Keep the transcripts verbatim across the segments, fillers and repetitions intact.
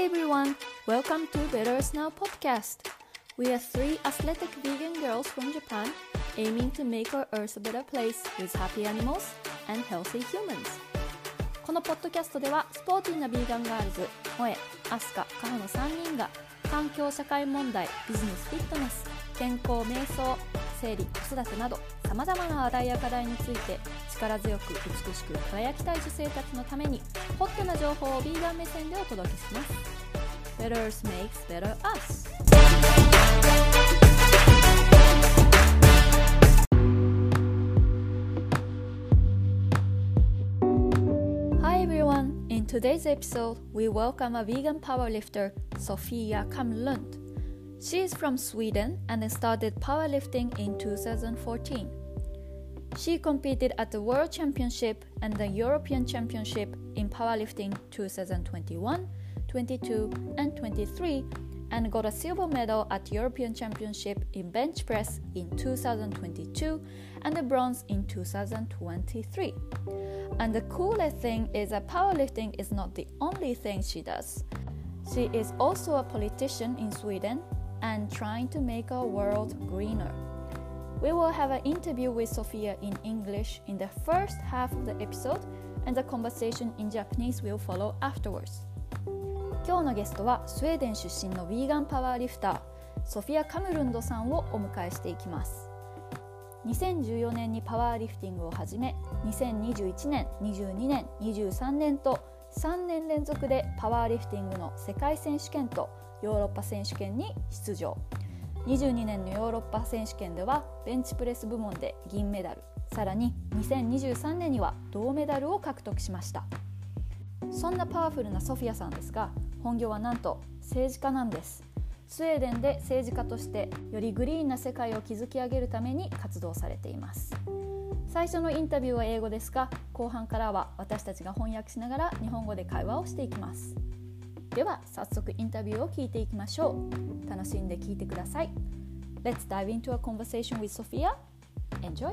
everyone, welcome to Better Us Now podcast. We are three athletic vegan girls from Japan aiming to make our earth a better place with happy animals and healthy humans. このポッドキャストではスポーティーなビーガンガールズ、萌え、アスカ、カホのさんにんが環境社会問題、ビジネスフィットネス、健康瞑想、生理、子育てなどさまざまな話題や課題について力強く美しく輝きたい女性たちのためにホットな情報をビーガン目線でお届けします。 Better Us makes better us. Hi everyone, in today's episode we welcome a vegan powerlifter, Sofia Kamlund. She is from Sweden and started powerlifting in two thousand fourteen. She competed at the World Championship and the European Championship in powerlifting twenty twenty-one, twenty-two, and twenty-three and got a silver medal at European Championship in bench press in two thousand twenty-two and a bronze in two thousand twenty-three. And the coolest thing is that powerlifting is not the only thing she does. She is also a politician in Sweden and trying to make our world greener. We will have an interview with Sofia in English in the first half of the episode, and the conversation in Japanese will follow afterwards. 今日のゲストはスウェーデン出身のヴィーガンパワーリフター、ソフィア・カムルンドさんをお迎えしていきます。にせんじゅうよねんにパワーリフティングを始め、にせんにじゅういちねん、にじゅうにねん、にじゅうさんねんとさんねん連続でパワーリフティングの世界選手権とヨーロッパ選手権に出場。にじゅうにねんのヨーロッパ選手権ではベンチプレス部門で銀メダル、さらににせんにじゅうさんねんには銅メダルを獲得しました。そんなパワフルなソフィアさんですが、本業はなんと政治家なんです。スウェーデンで政治家としてよりグリーンな世界を築き上げるために活動されています。最初のインタビューは英語ですが、後半からは私たちが翻訳しながら日本語で会話をしていきます。では早速インタビューを聞いていきましょう。楽しんで聞いてください。 Let's dive into a conversation with Sofia. Enjoy!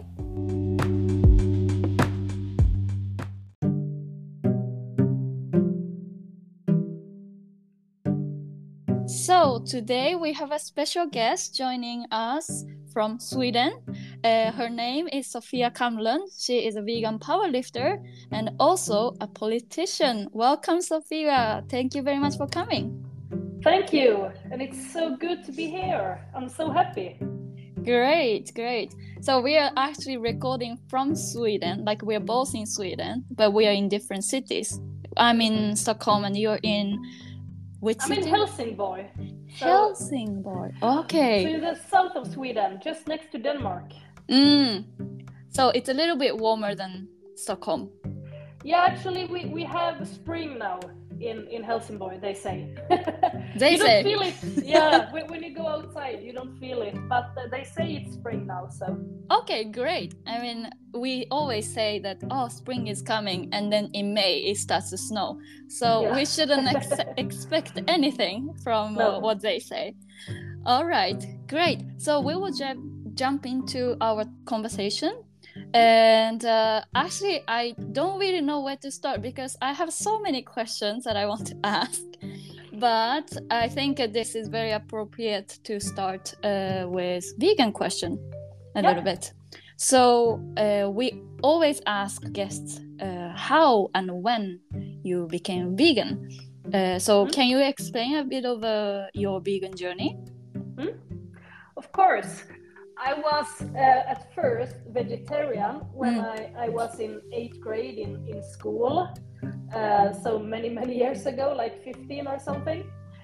So today we have a special guest joining us from Sweden. Uh, her name is Sofia Kamlund. She is a vegan powerlifter and also a politician. Welcome, Sofia. Thank you very much for coming. Thank you. And it's so good to be here. I'm so happy. Great, great. So we are actually recording from Sweden, like we are both in Sweden, but we are in different cities. I'm in Stockholm and you're in which I'm city? in Helsingborg. So, Helsingborg. Okay. So in the south of Sweden, just next to Denmark. Mm. So it's a little bit warmer than Stockholm. Yeah, actually we, we have spring now in, in Helsingborg, they say. They you say. don't feel it. Yeah, when, when you go outside, you don't feel it. But uh, they say it's spring now, so. Okay, great. I mean, we always say that, oh, spring is coming, and then in May it starts to snow. So Yeah. we shouldn't ex- expect anything from No. uh, what they say. All right, great. So we will ju- jump into our conversation. And uh, actually, I don't really know where to start because I have so many questions that I want to ask. But I think uh, this is very appropriate to start uh, with vegan question a Yeah. little bit. So uh, we always ask guests uh, how and when you became vegan. Uh, so Mm-hmm. can you explain a bit of uh, your vegan journey? Hmm? Of course. I was uh, at first vegetarian when Mm. I, I was in eighth grade in, in school. Uh, so many, many years ago, like fifteen or something.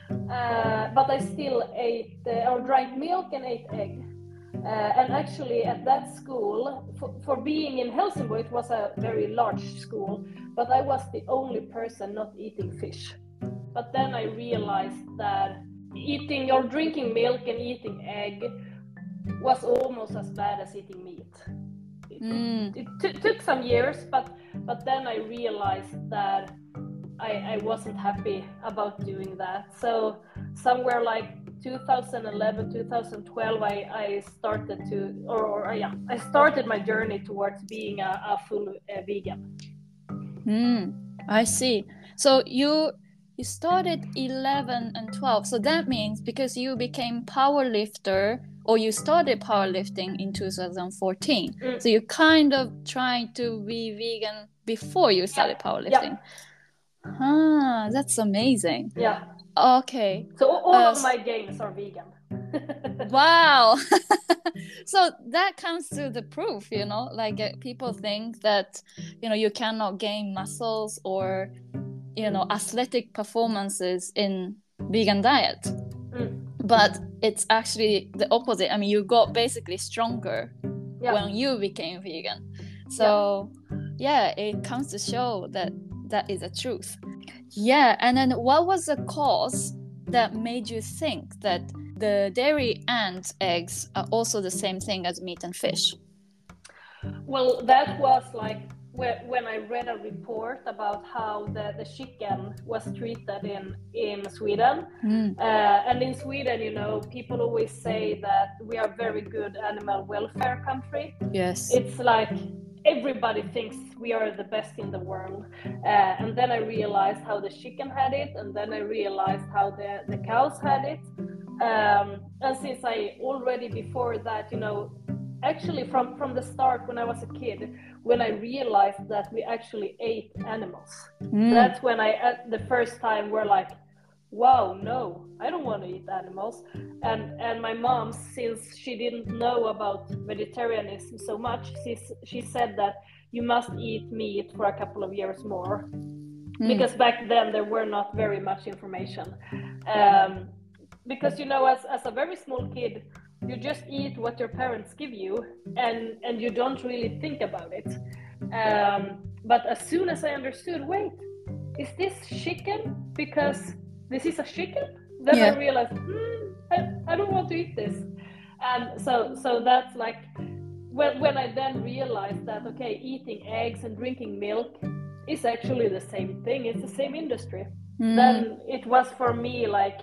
Uh, but I still ate uh, or drank milk and ate egg. Uh, and actually at that school, for, for being in Helsingborg, it was a very large school, but I was the only person not eating fish. But then I realized that eating or drinking milk and eating egg was almost as bad as eating meat. It, Mm. it t- took some years, but but then I realized that I, I wasn't happy about doing that. So somewhere like two thousand eleven, two thousand twelve, I, I started to, or, or yeah, I started my journey towards being a, a full uh, vegan. Mm. I see. So you you started eleven and twelve. So that means because you became power lifter or you started powerlifting in two thousand fourteen. Mm. So you kind of trying to be vegan before you started yeah. powerlifting. Yeah. Ah, that's amazing. Yeah. Okay. So all uh, of my gains are vegan. Wow. So that comes to the proof, you know, like uh, people think that, you know, you cannot gain muscles or, you know, athletic performances in vegan diet. Mm. But it's actually the opposite. I mean, you got basically stronger yeah. when you became vegan. So yeah. yeah, it comes to show that that is a truth. Yeah. And then what was the cause that made you think that the dairy and eggs are also the same thing as meat and fish? Well, that was like when I read a report about how the, the chicken was treated in, in Sweden. Mm. Uh, and in Sweden, you know, people always say that we are very good animal welfare country. Yes. It's like everybody thinks we are the best in the world. Uh, and then I realized how the chicken had it. And then I realized how the, the cows had it. Um, and since I already before that, you know, actually from, from the start when I was a kid, when I realized that we actually ate animals, mm. that's when I, at the first time were like, wow, no, I don't want to eat animals. And and my mom, since she didn't know about vegetarianism so much, she, she said that you must eat meat for a couple of years more. Mm. Because back then there were not very much information. Um, because, you know, as, as a very small kid, you just eat what your parents give you and, and you don't really think about it. Um, but as soon as I understood, wait, is this chicken because this is a chicken? Then yeah. I realized, hmm, I, I don't want to eat this. And so so that's like, when, when I then realized that, okay, eating eggs and drinking milk is actually the same thing, it's the same industry. Mm. Then it was for me like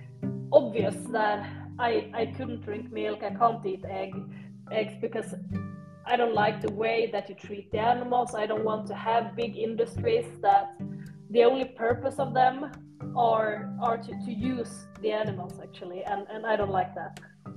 obvious that I, I couldn't drink milk, I can't eat egg, eggs because I don't like the way that you treat the animals. I don't want to have big industries that the only purpose of them are, are to, to use the animals actually, and, and I don't like that.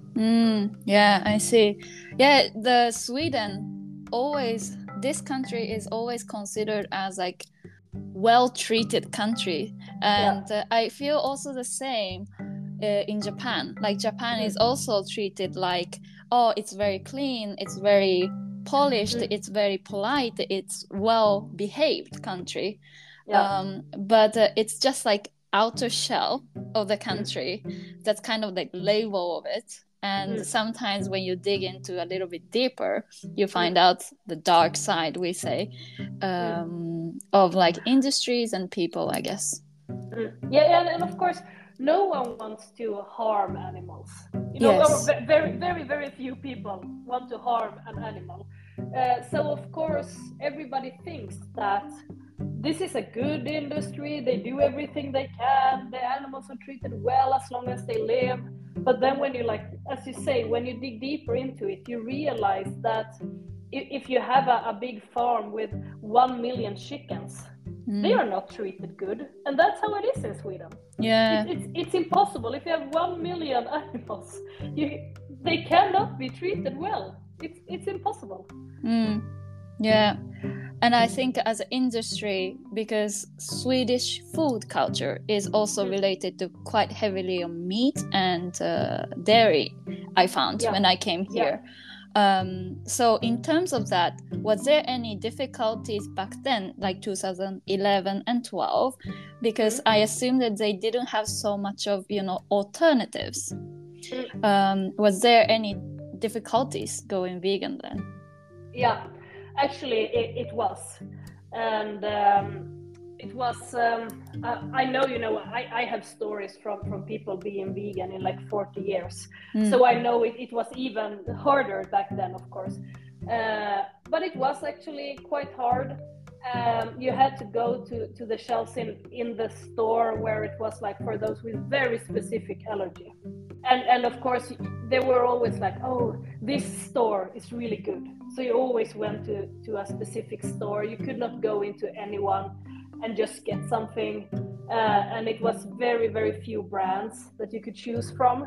Mm, yeah, I see. Yeah, the Sweden always, this country is always considered as like well-treated country. And yeah. uh, I feel also the same Uh, in Japan. Like Japan mm. is also treated like, oh, it's very clean, it's very polished, mm. it's very polite, it's well behaved country. Yeah. Um, but uh, it's just like outer shell of the country. Mm. That's kind of like label of it. And mm. sometimes when you dig into a little bit deeper, you find mm. out the dark side, we say, um, mm. of like industries and people, I guess. Mm. Yeah, and, and of course, no one wants to harm animals. You know, yes. very, very, very few people want to harm an animal. Uh, so of course, everybody thinks that this is a good industry. They do everything they can. The animals are treated well as long as they live. But then when you like, as you say, when you dig deeper into it, you realize that if you have a, a big farm with one million chickens, Mm. they are not treated good, and that's how it is in Sweden. Yeah, it, it's it's impossible. If you have one million animals, you they cannot be treated well. It's it's impossible. Mm. Yeah, and I think as an industry, because Swedish food culture is also mm. related to quite heavily on meat and uh, dairy. I found yeah. when I came here. Yeah. Um, so in terms of that, was there any difficulties back then, like two thousand eleven and twelve? Because mm-hmm. I assume that they didn't have so much of, you know, alternatives. Mm-hmm. Um, was there any difficulties going vegan then? Yeah, actually it, it was. And um, it was, um, I, I know, you know, I, I have stories from, from people being vegan in like forty years. Mm. So I know it, it was even harder back then, of course. Uh, but it was actually quite hard. Um, you had to go to, to the shelves in, in the store where it was like for those with very specific allergy. And, and of course, they were always like, oh, this store is really good. So you always went to, to a specific store. You could not go into anyone and just get something. uh, and it was very very few brands that you could choose from,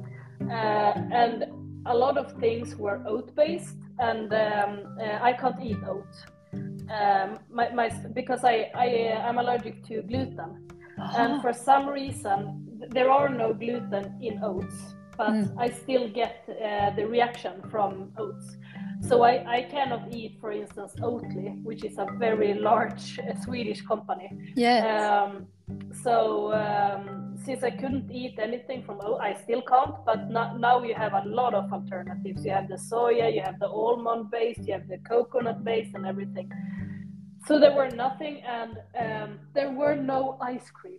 uh, and a lot of things were oat based, and um, uh, I can't eat oat um, my, my, because I, I uh, I'm allergic to gluten, uh-huh. and for some reason there are no gluten in oats, but mm. I still get uh, the reaction from oats. So I, I cannot eat, for instance, Oatly, which is a very large uh, Swedish company. Yes. Um, so um, since I couldn't eat anything from oat, I still can't. But no, now you have a lot of alternatives. You have the soya, you have the almond based, you have the coconut based, and everything. So there were nothing, and um, there were no ice cream.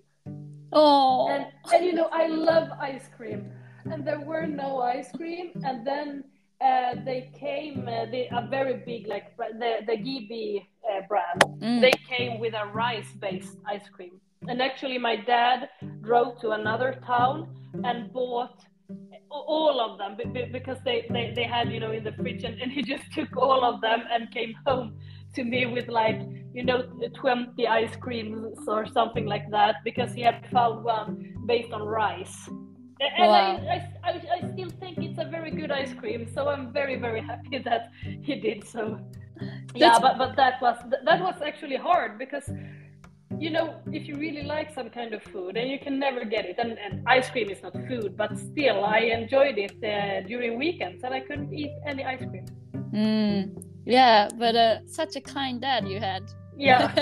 Oh. And, and you know, I love ice cream, and there were no ice cream, and then. Uh, they came, uh, they, a very big, like the, the G B uh, brand, mm. they came with a rice-based ice cream. And actually my dad drove to another town and bought all of them because they, they, they had, you know, in the fridge, and, and he just took all of them and came home to me with like, you know, twenty ice creams or something like that, because he had found one based on rice. And wow. I, I, I still think it's a very good ice cream, so I'm very, very happy that he did so. Yeah, but, but that was that was actually hard because, you know, if you really like some kind of food and you can never get it, and, and ice cream is not food, but still I enjoyed it uh, during weekends, and I couldn't eat any ice cream. Mm, yeah, but uh, such a kind dad you had. Yeah,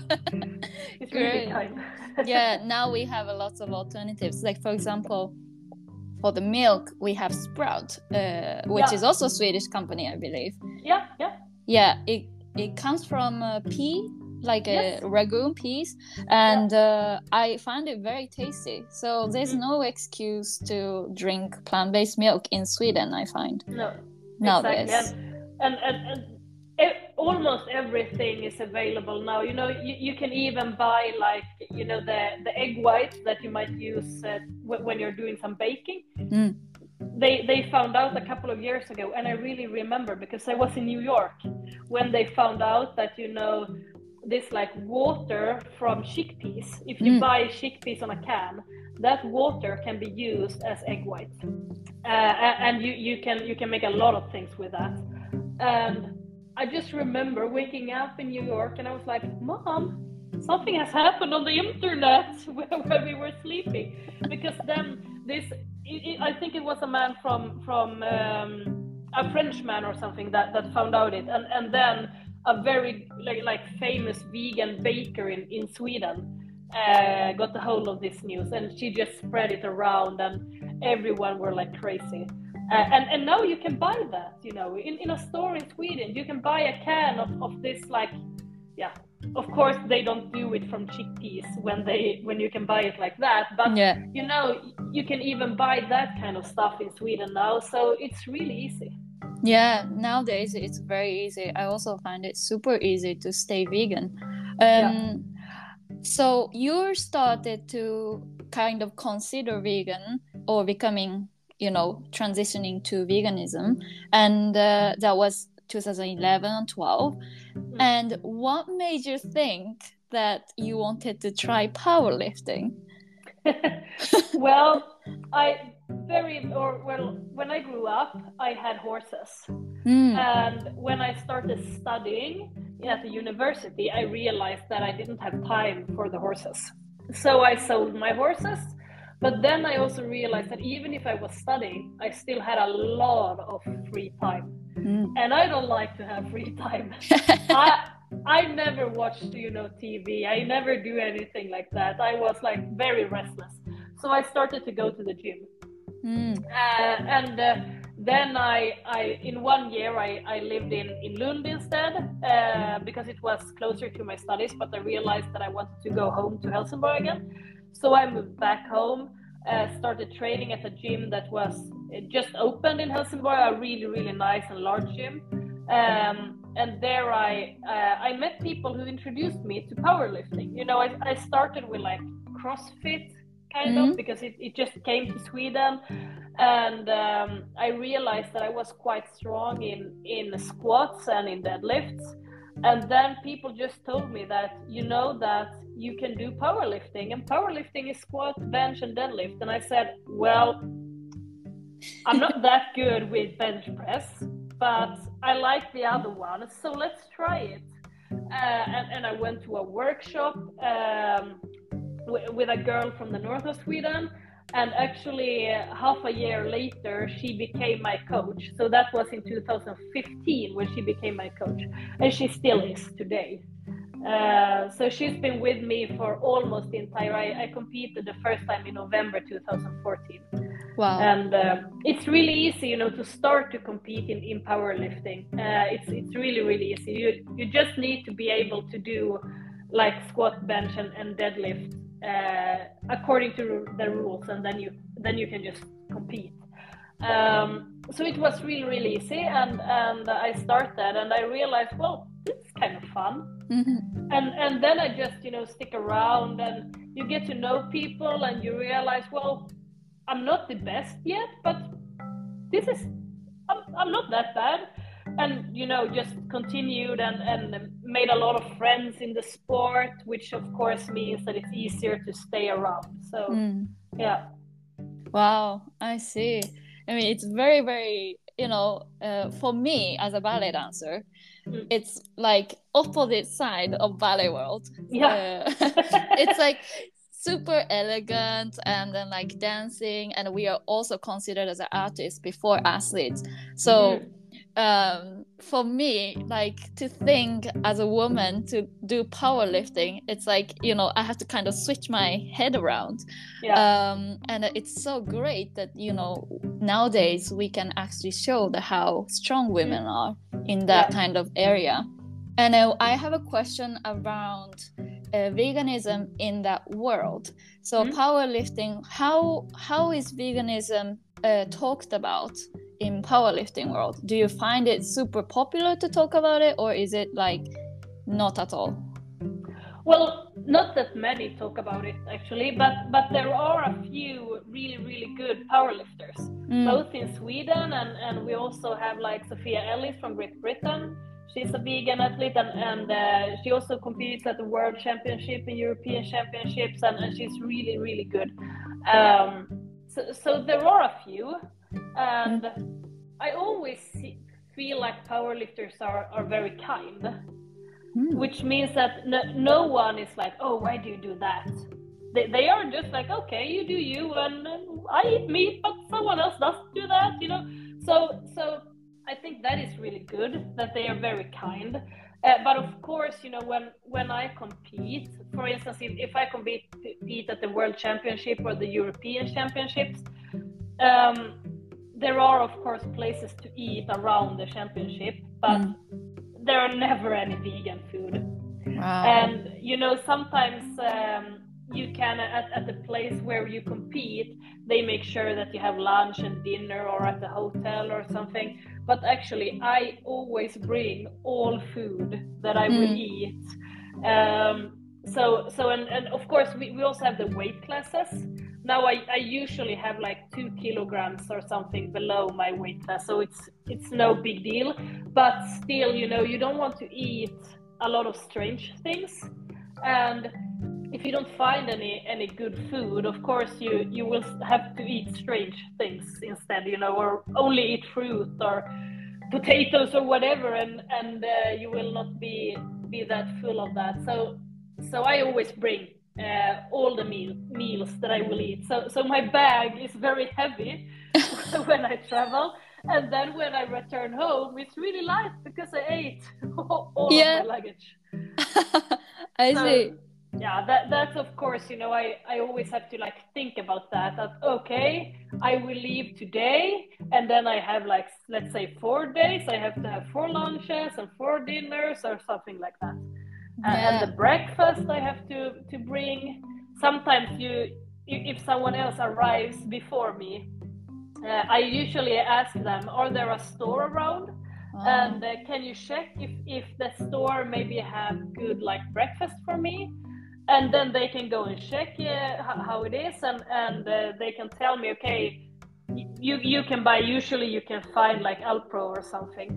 it's really kind. Yeah, now we have a lot of alternatives. Like, for example, for the milk, we have Sprout, uh, which yeah. is also a Swedish company, I believe. Yeah, yeah. Yeah, it it comes from uh, pea, like yes. a ragu peas, and yeah. uh, I find it very tasty. So there's mm. no excuse to drink plant-based milk in Sweden, I find. No, nowadays. Exactly. And, and, and, and it, almost everything is available now. You know, you, you can even buy like, you know, the, the egg whites that you might use uh, w- when you're doing some baking. Mm. They they found out a couple of years ago, and I really remember because I was in New York when they found out that, you know, this like water from chickpeas, if you mm. buy chickpeas on a can, that water can be used as egg white, uh, and you, you can you can make a lot of things with that. And I just remember waking up in New York and I was like, Mom, something has happened on the internet when we were sleeping, because then this, it, I think it was a man from from um, a French man or something that, that found out it, and, and then a very like, like famous vegan baker in, in Sweden uh, got a hold of this news, and she just spread it around, and everyone were like crazy. Uh, and, and now you can buy that, you know, in, in a store in Sweden, you can buy a can of, of this, like, yeah, of course they don't do it from chickpeas when they when you can buy it like that, but yeah. you know, you can even buy that kind of stuff in Sweden now, so it's really easy. Yeah, nowadays it's very easy. I also find it super easy to stay vegan. Um, yeah. So you started to kind of consider vegan or becoming, you know, transitioning to veganism, and uh, that was two thousand eleven and twelve. Mm. And what made you think that you wanted to try powerlifting? Well, I very or well when I grew up, I had horses, mm. and when I started studying at the university, I realized that I didn't have time for the horses, so I sold my horses. But then I also realized that even if I was studying, I still had a lot of free time. Mm. And I don't like to have free time. I I never watched, you know, T V. I never do anything like that. I was like very restless. So I started to go to the gym. Mm. Uh, and uh, then I, I, in one year, I, I lived in, in Lund instead, uh, because it was closer to my studies, but I realized that I wanted to go home to Helsingborg again. So I moved back home, uh, started training at a gym that was just opened in Helsingborg, a really, really nice and large gym. Um, and there I uh, I met people who introduced me to powerlifting. You know, I, I started with like CrossFit, kind mm-hmm. of, because it, it just came to Sweden. And um, I realized that I was quite strong in, in squats and in deadlifts. And then people just told me that, you know, that you can do powerlifting, and powerlifting is squat, bench, and deadlift. And I said, well, I'm not that good with bench press, but I like the other one, so let's try it. Uh, and, and I went to a workshop um, w- with a girl from the north of Sweden, and actually uh, half a year later she became my coach. So that was in two thousand fifteen when she became my coach, and she still is today. Uh, so she's been with me for almost the entire. I, I competed the first time in November two thousand fourteen. Wow. And uh, it's really easy, you know, to start to compete in, in powerlifting. Uh, it's it's really really easy. You you just need to be able to do like squat, bench, and, and deadlift uh, according to the rules, and then you then you can just compete. Um, so it was really really easy, and and I started, and I realized, well, it's kind of fun. Mm-hmm. And and then I just, you know, stick around, and you get to know people, and you realize, well, I'm not the best yet, but this is, I'm, I'm not that bad. And, you know, just continued and, and made a lot of friends in the sport, which of course means that it's easier to stay around. So, Mm. yeah. Wow, I see. I mean, it's very, very, you know, uh, for me as a ballet dancer, mm. it's like opposite side of ballet world. Yeah. Uh, it's like super elegant, and then like dancing, and we are also considered as an artist before athletes. So mm. um, for me, like to think as a woman to do powerlifting, it's like, you know, I have to kind of switch my head around. Yeah. Um, and it's so great that, you know, nowadays we can actually show the how strong women mm. are in that yeah. kind of area. And uh, I have a question around Uh, veganism in that world. So mm-hmm. powerlifting, how how is veganism uh, talked about in powerlifting world? Do you find it super popular to talk about it, or is it like not at all? Well, not that many talk about it actually, but but there are a few really really good powerlifters, mm. both in Sweden, and and we also have like Sophia Ellis from Great Britain. She's a vegan athlete, and, and uh, she also competes at the World Championship and European Championships, and, and she's really, really good. Um, so, so there are a few, and I always see, feel like powerlifters are, are very kind, mm. which means that no, no one is like, oh, why do you do that? They, they are just like, okay, you do you, and, and I eat meat, but someone else doesn't do that, you know? So, so I think that is really good, that they are very kind. Uh, but of course, you know, when, when I compete, for instance, if, if I compete, compete at the World Championship or the European Championships, um, there are, of course, places to eat around the championship, but mm. there are never any vegan food. Wow. And, you know, sometimes um, you can, at, at the place where you compete, they make sure that you have lunch and dinner or at the hotel or something. But actually, I always bring all food that I mm. will eat. Um, so, so and, and of course, we, we also have the weight classes. Now, I, I usually have like two kilograms or something below my weight class, so it's it's no big deal. But still, you know, you don't want to eat a lot of strange things. And if you don't find any any good food, of course you you will have to eat strange things instead, you know, or only eat fruit or potatoes or whatever, and and uh, you will not be be that full of that. So so I always bring uh, all the meal meals that I will eat. So so my bag is very heavy when I travel, and then when I return home, it's really light because I ate all yeah. of my luggage. I so, see. Yeah, that that's of course, you know, I, I always have to like think about that, that, okay, I will leave today, and then I have like, let's say four days, I have to have four lunches and four dinners or something like that. Yeah. And the breakfast I have to, to bring. Sometimes you, if someone else arrives before me, uh, I usually ask them, are there a store around? Oh. And uh, can you check if, if the store maybe have good like breakfast for me? And then they can go and check uh, how it is, and, and uh, they can tell me, okay, you, you can buy, usually you can find like Alpro or something.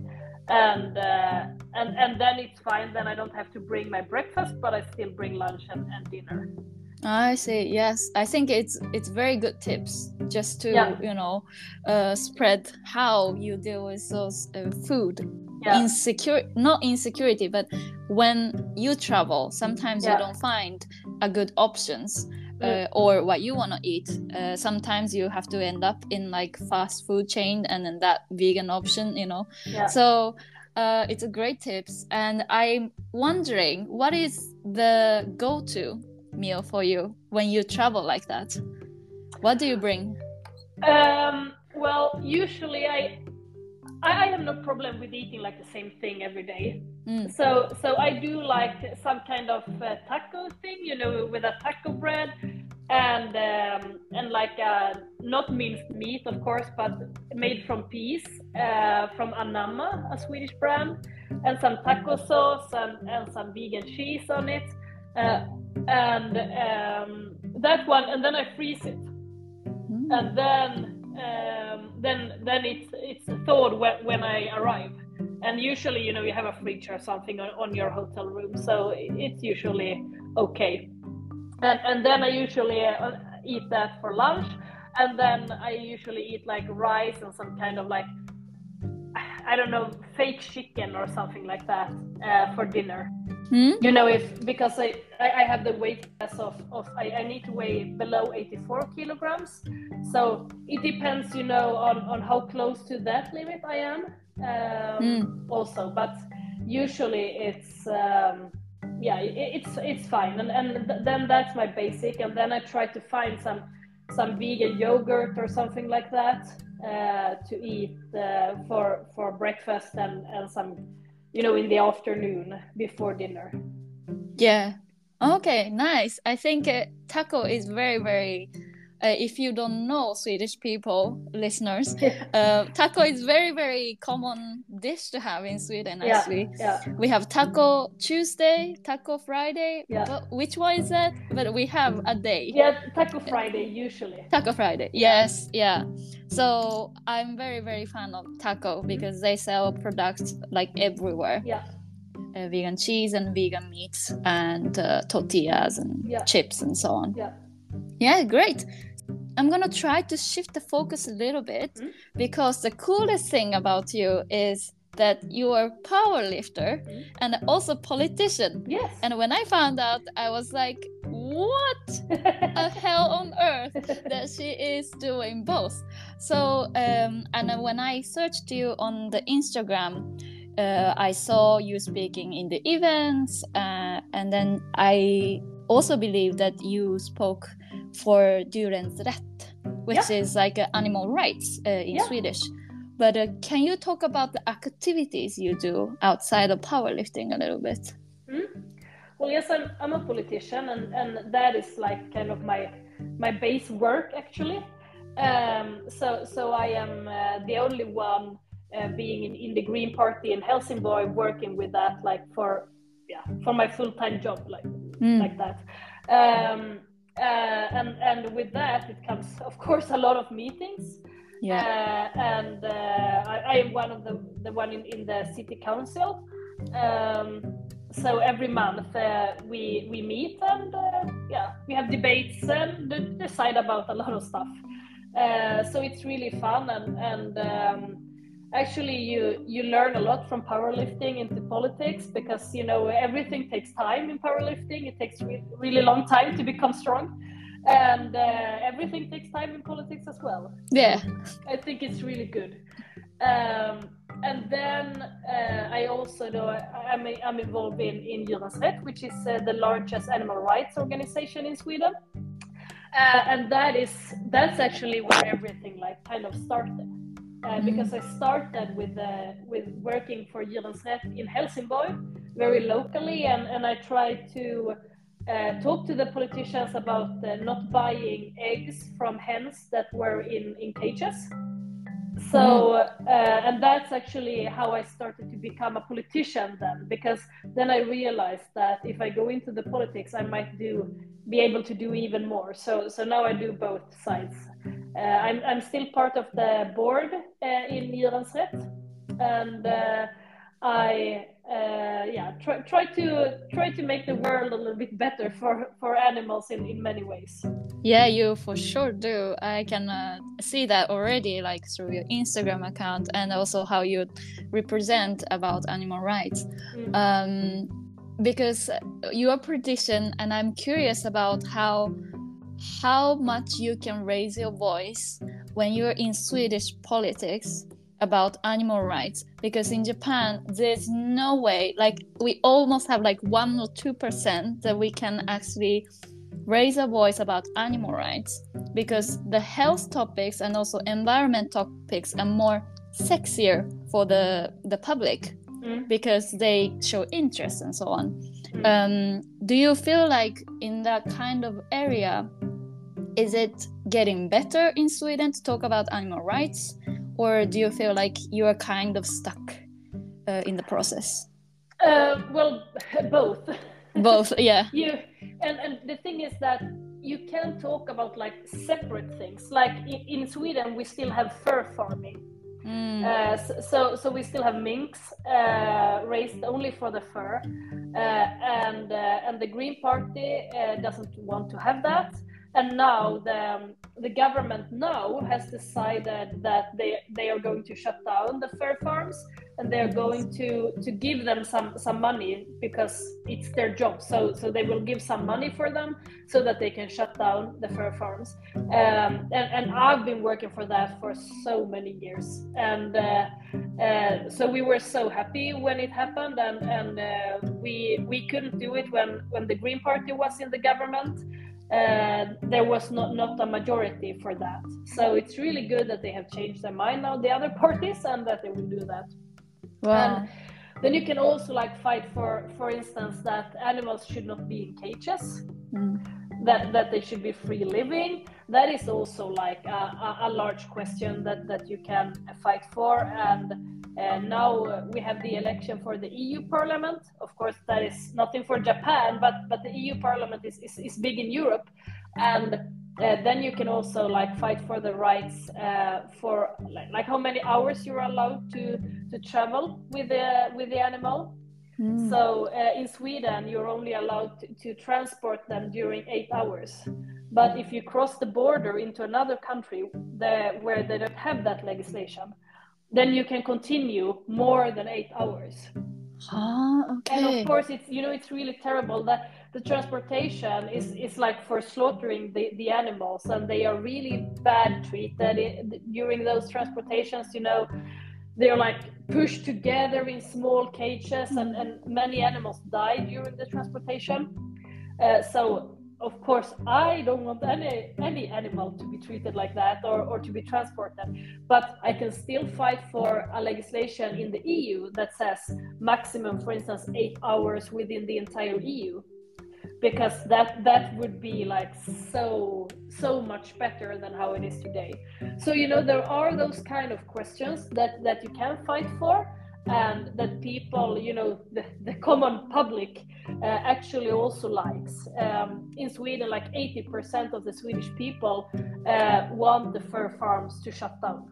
and uh, and and then it's fine. Then I don't have to bring my breakfast, but I still bring lunch and, and dinner. I see. Yes, I think it's it's very good tips just to Yeah. you know uh, spread how you deal with those uh, food Yeah. insecure, not insecurity, but when you travel, sometimes Yeah. you don't find a good options uh, Mm. or what you want to eat. Uh, sometimes you have to end up in like fast food chain and then that vegan option, you know. Yeah. So uh, it's a great tips, and I'm wondering what is the go-to meal for you when you travel like that? What do you bring? Um, well, usually I, I I have no problem with eating like the same thing every day. Mm. So so I do like some kind of uh, taco thing, you know, with a taco bread and um, and like uh, not minced meat, of course, but made from peas uh, from Anamma, a Swedish brand, and some taco sauce and, and some vegan cheese on it, uh, and um, that one, and then I freeze it, Mm. and then um, then then it's it's thawed when, when I arrive. And usually, you know, you have a fridge or something on, on your hotel room, so it's usually okay. And, and then I usually uh, eat that for lunch, and then I usually eat like rice and some kind of like, I don't know, fake chicken or something like that uh, for dinner. Mm. You know, if because I, I have the weight class of, of I, I need to weigh below eighty-four kilograms, so it depends, you know, on, on how close to that limit I am um, Mm. also, but usually it's um, yeah, it, it's it's fine, and and th- then that's my basic, and then I try to find some some vegan yogurt or something like that uh, to eat uh, for for breakfast and and some, you know, in the afternoon before dinner. Yeah. Okay, nice. I think uh, taco is very, very. Uh, if you don't know Swedish people, listeners, uh, taco is very, very common dish to have in Sweden. Yeah, Actually, yeah. we have Taco Tuesday, Taco Friday. Yeah. But which one is that? But we have a day. Yeah, Taco Friday usually. Taco Friday. Yeah. Yes, yeah. So I'm very, very fan of taco because they sell products like everywhere. Yeah. Uh, vegan cheese and vegan meats and uh, tortillas and Yeah. chips and so on. Yeah. Yeah, great. I'm gonna try to shift the focus a little bit Mm. because the coolest thing about you is that you are a power lifter Mm. and also politician. Yes. And when I found out, I was like, what the hell on earth that she is doing both. So um, and then when I searched you on the Instagram, uh, I saw you speaking in the events, uh, and then I also believe that you spoke for Djurens Rätt, which Yeah. is like uh, animal rights uh, in Yeah. Swedish. But uh, can you talk about the activities you do outside of powerlifting a little bit? Mm. Well, yes, I'm, I'm a politician, and, and that is like kind of my my base work actually. Um, so so I am uh, the only one uh, being in, in the Green Party in Helsingborg, working with that like for yeah for my full time job like Mm. like that. Um, uh, and and with that it comes of course a lot of meetings. Yeah. Uh, and uh, I, I am one of the the one in, in the city council. Um, so every month uh, we we meet and uh, yeah we have debates and d- decide about a lot of stuff. Uh, so it's really fun, and and um, actually you you learn a lot from powerlifting into politics, because you know everything takes time in powerlifting. It takes re- really long time to become strong. And uh, everything takes time in politics as well. Yeah. I think it's really good. Um, and then uh, I also know I'm, I'm involved in, in Djurens Rätt, which is uh, the largest animal rights organization in Sweden. Uh, and that is that's actually where everything like kind of started. Uh, because I started with uh, with working for Djurens Rätt in Helsingborg, very locally, and, and I tried to Uh, talk to the politicians about uh, not buying eggs from hens that were in, in cages. So, uh, and that's actually how I started to become a politician then, because then I realized that if I go into the politics, I might do be able to do even more. So, so now I do both sides. Uh, I'm, I'm still part of the board uh, in Djurens Rätt, and uh, I uh, yeah try, try to try to make the world a little bit better for for animals in in many ways. Yeah, you for sure do. I can uh, see that already, like through your Instagram account and also how you represent about animal rights. Mm. Um, because you are politician, and I'm curious about how how much you can raise your voice when you're in Swedish politics about animal rights. Because in Japan, there's no way, like we almost have like one or two percent that we can actually raise a voice about animal rights, because the health topics and also environment topics are more sexier for the the public, mm. because they show interest and so on. Mm. Um, do you feel like in that kind of area, is it getting better in Sweden to talk about animal rights, or do you feel like you are kind of stuck uh, in the process? Uh, well, both. Both, yeah. you and and the thing is that you can talk about like separate things. Like in, in Sweden, we still have fur farming. Mm. Uh, so so we still have minks uh, raised only for the fur, uh, and uh, and the Green Party uh, doesn't want to have that. And now the um, the government now has decided that they they are going to shut down the fur farms, and they are going to to give them some some money because it's their job. So so they will give some money for them so that they can shut down the fur farms. Um, and and I've been working for that for so many years, and uh, uh, so we were so happy when it happened, and and uh, we we couldn't do it when when the Green Party was in the government. Uh, there was not, not a majority for that. So it's really good that they have changed their mind now, the other parties, and that they will do that. Wow. And then you can also like fight for, for instance, that animals should not be in cages, mm. that, that they should be free living. That is also like a, a, a large question that, that you can fight for. And And now uh, we have the election for the E U Parliament. Of course, that is nothing for Japan, but but the E U Parliament is is, is big in Europe, and uh, then you can also like fight for the rights uh, for like, like how many hours you're allowed to to travel with the with the animal. Mm. So uh, in Sweden, you're only allowed to, to transport them during eight hours. But if you cross the border into another country the, where they don't have that legislation, then you can continue more than eight hours. Ah, okay. And of course, it's you know it's really terrible that the transportation is is like for slaughtering the, the animals, and they are really bad treated during those transportations. You know, they're like pushed together in small cages, and, and many animals die during the transportation. Uh, so. Of course, I don't want any any animal to be treated like that or, or to be transported, but I can still fight for a legislation in the E U that says maximum, for instance, eight hours within the entire E U, because that that would be like so so much better than how it is today. So you know there are those kind of questions that that you can fight for, and that people, you know, the, the common public uh, actually also likes. Um, in Sweden, like eighty percent of the Swedish people uh, want the fur farms to shut down.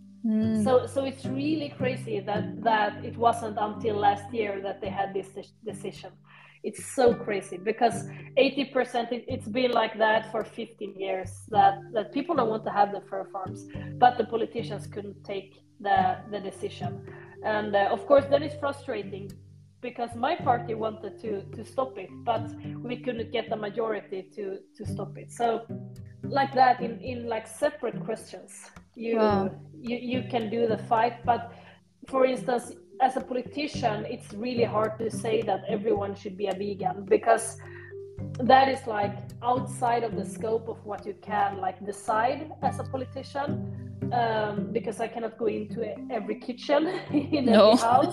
Mm. So, so it's really crazy that, that it wasn't until last year that they had this decision. It's so crazy because eighty percent, it, it's been like that for fifteen years, that, that people don't want to have the fur farms, but the politicians couldn't take the, the decision. And uh, of course, that is frustrating because my party wanted to, to stop it, but we couldn't get the majority to, to stop it. So like that, in, in like separate questions, you, wow. you you can do the fight. But for instance, as a politician, it's really hard to say that everyone should be a vegan, because that is like outside of the scope of what you can like decide as a politician. Um, because I cannot go into every kitchen in no. every house.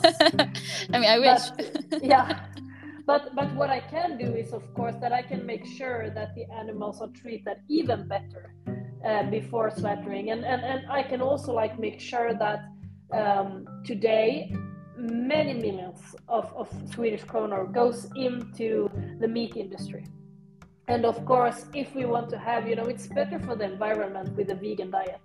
I mean, I wish. But, yeah, but but what I can do is, of course, that I can make sure that the animals are treated even better uh, before slaughtering, and, and and I can also like make sure that um, today many millions of, of Swedish kronor goes into the meat industry. And of course, if we want to have, you know, it's better for the environment with a vegan diet.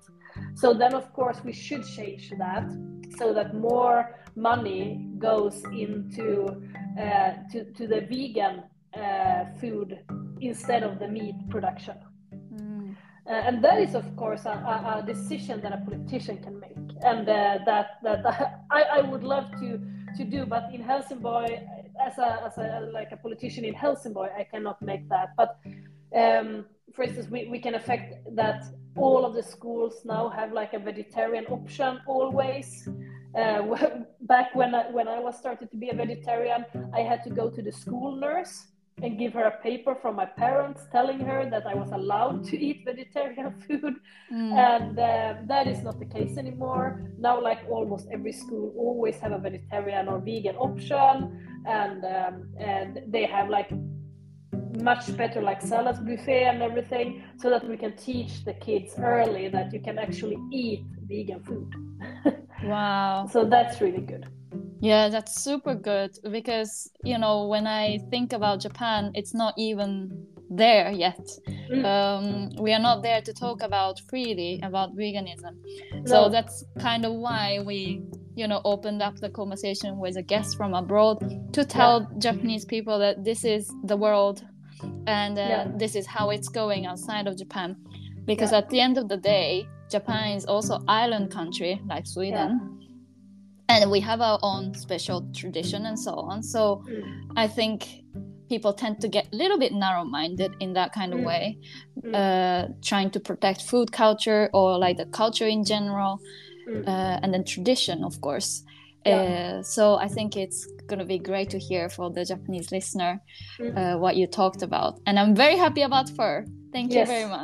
So then, of course, we should change that so that more money goes into uh, to, to the vegan uh, food instead of the meat production. Mm. Uh, and that is, of course, a, a, a decision that a politician can make, and uh, that that I, I would love to to do. But in Helsingborg, as a as a like a politician in Helsingborg, I cannot make that. But um, for instance, we, we can affect that all of the schools now have like a vegetarian option always. Uh, back when I, when I was started to be a vegetarian, I had to go to the school nurse and give her a paper from my parents telling her that I was allowed to eat vegetarian food. Mm. And uh, that is not the case anymore. Now, like almost every school always have a vegetarian or vegan option, and um, and they have like much better like salad buffet and everything, so that we can teach the kids early that you can actually eat vegan food. Wow. So that's really good. Yeah, that's super good, because, you know, when I think about Japan, it's not even there yet. Mm. Um, we are not there to talk about freely about veganism. No. So that's kind of why we, you know, opened up the conversation with a guest from abroad to tell yeah. Japanese people that this is the world, and uh, yeah. this is how it's going outside of Japan. Because yeah. at the end of the day, Japan is also an island country like Sweden. Yeah. And we have our own special tradition and so on. So mm. I think people tend to get a little bit narrow-minded in that kind of mm. way, mm. uh, trying to protect food culture or like the culture in general, mm. uh, and then tradition, of course. Yeah. Uh, so I think it's going to be great to hear for the Japanese listener mm. uh, what you talked about. And I'm very happy about fur. Thank yes. you very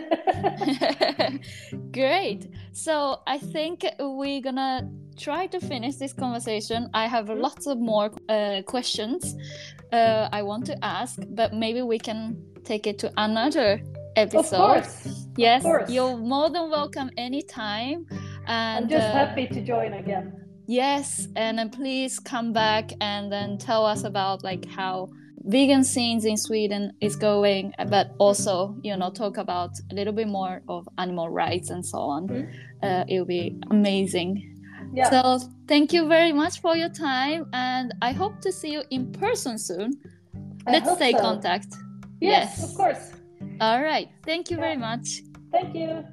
much. Great. So I think we're going to try to finish this conversation. I have mm. lots of more uh, questions uh, I want to ask, but maybe we can take it to another episode. Of course. Yes, of course. You're more than welcome anytime. And I'm just uh, happy to join again. Yes, and then please come back and then tell us about like how vegan scenes in Sweden is going, but also, you know, talk about a little bit more of animal rights and so on. Mm. Uh, it'll be amazing. Yeah. So thank you very much for your time, and I hope to see you in person soon. I Let's stay so. contact. Yes, yes, of course. All right. Thank you yeah. very much. Thank you.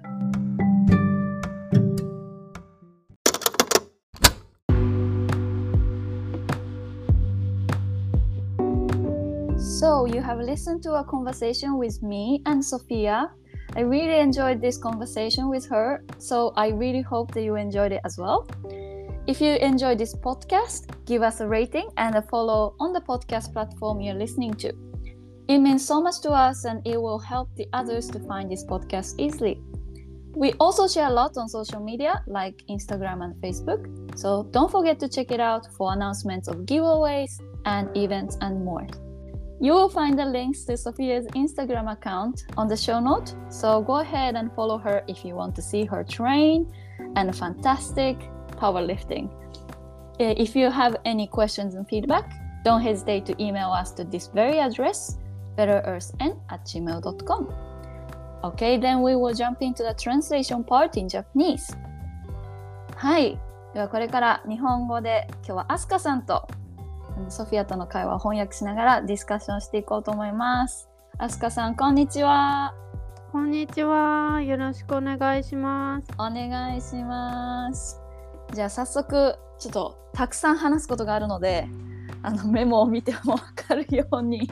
So you have listened to a conversation with me and Sophia. I really enjoyed this conversation with her, so I really hope that you enjoyed it as well. If you enjoyed this podcast, give us a rating and a follow on the podcast platform you're listening to. It means so much to us, and it will help the others to find this podcast easily. We also share a lot on social media like Instagram and Facebook, so don't forget to check it out for announcements of giveaways and events and more. You will find the links to Sophia's Instagram account on the show note, so go ahead and follow her if you want to see her train and fantastic powerlifting. If you have any questions and feedback, don't hesitate to email us to this very address, betterearthn at gmail dot com. Okay, then we will jump into the translation part in Japanese. はい、ではこれから日本語で今日はアスカさんとソフィアとの会話を翻訳しながらディスカッションしていこうと思います。アスカさん、こんにちは。 こんにちは。よろしくお願いします。 お願いします。じゃあ早速ちょっとたくさん話すことがあるので、あのメモを見ても分かるように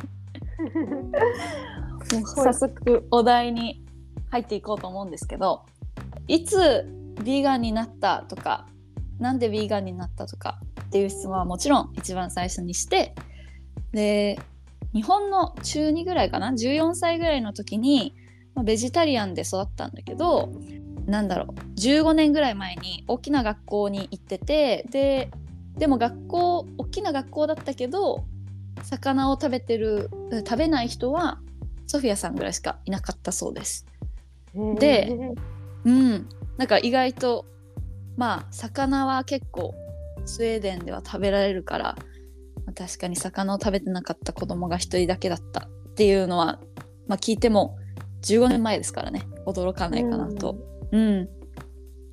もう早速お題に入っていこうと思うんですけど、いつビーガンになったとか、なんでビーガンになったとかっていう質問はもちろん一番最初にして、で日本の中にぐらいかな、じゅうよんさいぐらいの時に、まあ、ベジタリアンで育ったんだけど、なんだろうじゅうごねんぐらい前に大きな学校に行ってて、ででも学校大きな学校だったけど魚を食べてる食べない人はソフィアさんぐらいしかいなかったそうです。で、うん、なんか意外とまあ魚は結構スウェーデンでは食べられるから、まあ、確かに魚を食べてなかった子供が一人だけだったっていうのは、まあ、聞いてもじゅうごねんまえですからね、驚かないかなと。うん、うん、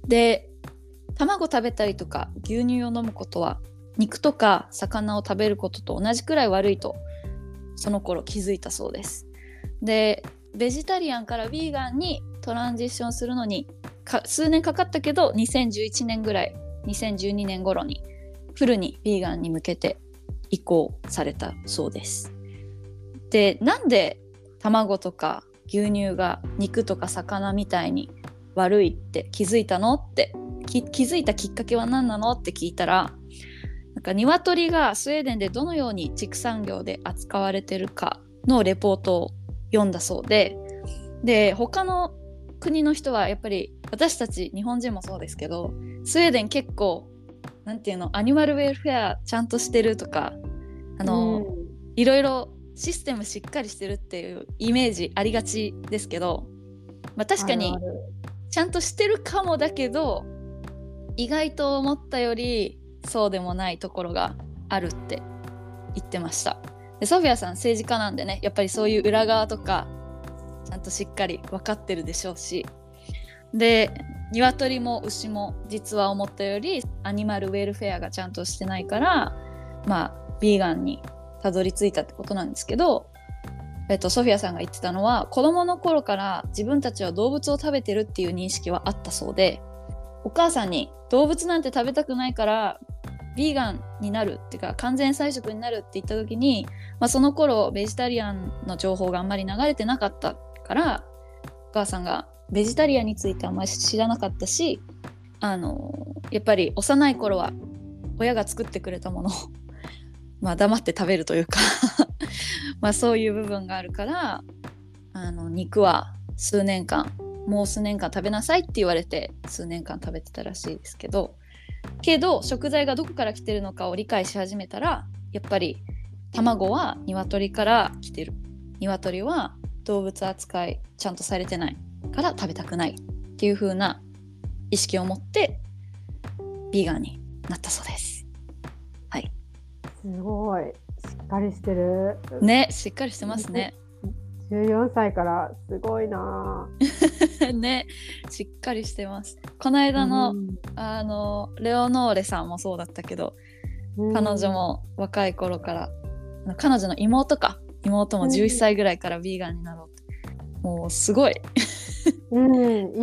で卵食べたりとか牛乳を飲むことは肉とか魚を食べることと同じくらい悪いとその頃気づいたそうです。でベジタリアンからヴィーガンにトランジションするのにか数年かかったけどにせんじゅういちねんぐらいにせんじゅうにねん頃にフルにヴィーガンに向けて移行されたそうです。でなんで卵とか牛乳が肉とか魚みたいに悪いって気づいたのって気づいたきっかけは何なのって聞いたら、なんか鶏がスウェーデンでどのように畜産業で扱われてるかのレポートを読んだそうで、で他の国の人はやっぱり私たち日本人もそうですけど、スウェーデン結構なんていうのアニマルウェルフェアちゃんとしてるとか、あの、うん、いろいろシステムしっかりしてるっていうイメージありがちですけど、まあ、確かにちゃんとしてるかもだけど意外と思ったよりそうでもないところがあるって言ってました。でソフィアさん政治家なんでね、やっぱりそういう裏側とかちゃんとしっかり分かってるでしょうし、で鶏も牛も実は思ったよりアニマルウェルフェアがちゃんとしてないから、まあビーガンにたどり着いたってことなんですけど、えっと、ソフィアさんが言ってたのは子供の頃から自分たちは動物を食べてるっていう認識はあったそうで、お母さんに動物なんて食べたくないからビーガンになるっていうか完全菜食になるって言った時に、まあ、その頃ベジタリアンの情報があんまり流れてなかったからお母さんがベジタリアンについてあんまり知らなかったし、あのやっぱり幼い頃は親が作ってくれたものをまあ黙って食べるというかまあそういう部分があるから、あの肉は数年間もう数年間食べなさいって言われて数年間食べてたらしいですけど、けど食材がどこから来てるのかを理解し始めたら、やっぱり卵は鶏から来てる、鶏は動物扱いちゃんとされてないから食べたくないっていう風な意識を持ってビーガンになったそうです。はい。 すごいしっかりしてるね、しっかりしてますね。 じゅうよんさいからすごいなね、しっかりしてます。この間の、うん、あのレオノーレさんもそうだったけど、うん、彼女も若い頃から彼女の妹か妹もじゅういっさいぐらいからビーガンになろうって、うん、もうすごいうん、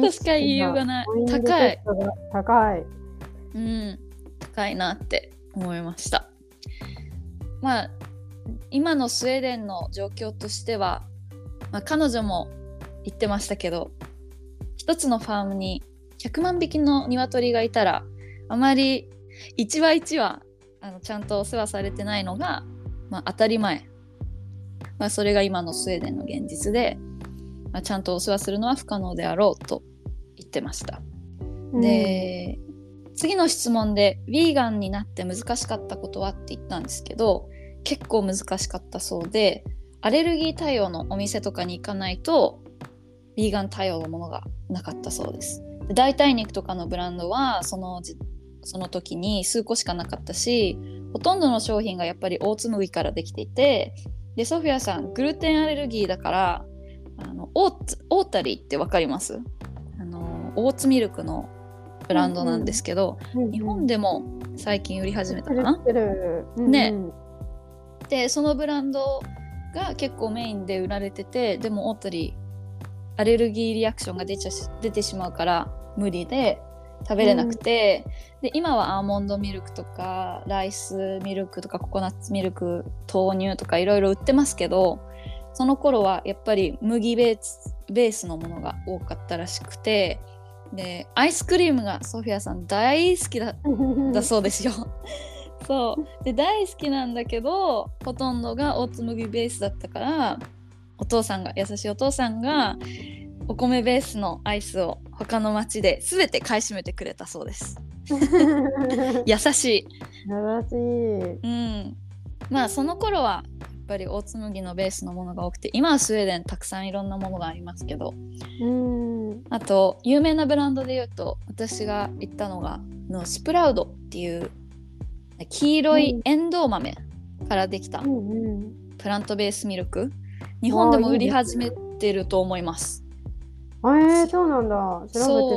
としか言いようがない。高い高い、 うん、高いなって思いました。まあ今のスウェーデンの状況としては、まあ、彼女も言ってましたけど、一つのファームにひゃくまんびきの鶏がいたらあまり一羽一羽あのちゃんとお世話されてないのが、まあ、当たり前、まあ、それが今のスウェーデンの現実で、まあ、ちゃんとお世話するのは不可能であろうと言ってました、うん、で次の質問でヴィーガンになって難しかったことはって言ったんですけど、結構難しかったそうで、アレルギー対応のお店とかに行かないとヴィーガン対応のものがなかったそうです。で代替肉とかのブランドはそのその時に数個しかなかったし、ほとんどの商品がやっぱりオーツ麦からできていて、でソフィアさんグルテンアレルギーだからあのオーツオータリーってわかります？あのオーツミルクのブランドなんですけど、うんうん、日本でも最近売り始めたかな、うんうん、ね。でそのブランドが結構メインで売られてて、でもオータリーアレルギーリアクションが出ちゃし出てしまうから無理で食べれなくて、うん、で今はアーモンドミルクとかライスミルクとかココナッツミルク、豆乳とかいろいろ売ってますけど、その頃はやっぱり麦ベース、ベースのものが多かったらしくて、でアイスクリームがソフィアさん大好き だ, だそうですよそうで大好きなんだけどほとんどがオーツ麦ベースだったから、お父さんが優しいお父さんがお米ベースのアイスを他の町で全て買い占めてくれたそうです優しい優しい、 うん、まあその頃はやっぱりオーツ麦のベースのものが多くて、今はスウェーデンたくさんいろんなものがありますけど、うんあと有名なブランドで言うと私が行ったのがのスプラウドっていう黄色いエンドウ豆からできたプラントベースミルク、日本でも売り始めてると思います。 あ、えー、そうなんだ。調べてみよ